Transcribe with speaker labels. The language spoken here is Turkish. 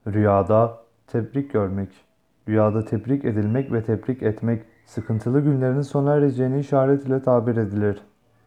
Speaker 1: Rüyada tebrik görmek. Rüyada tebrik edilmek ve tebrik etmek sıkıntılı günlerin sona ereceğini işaret ile tabir edilir.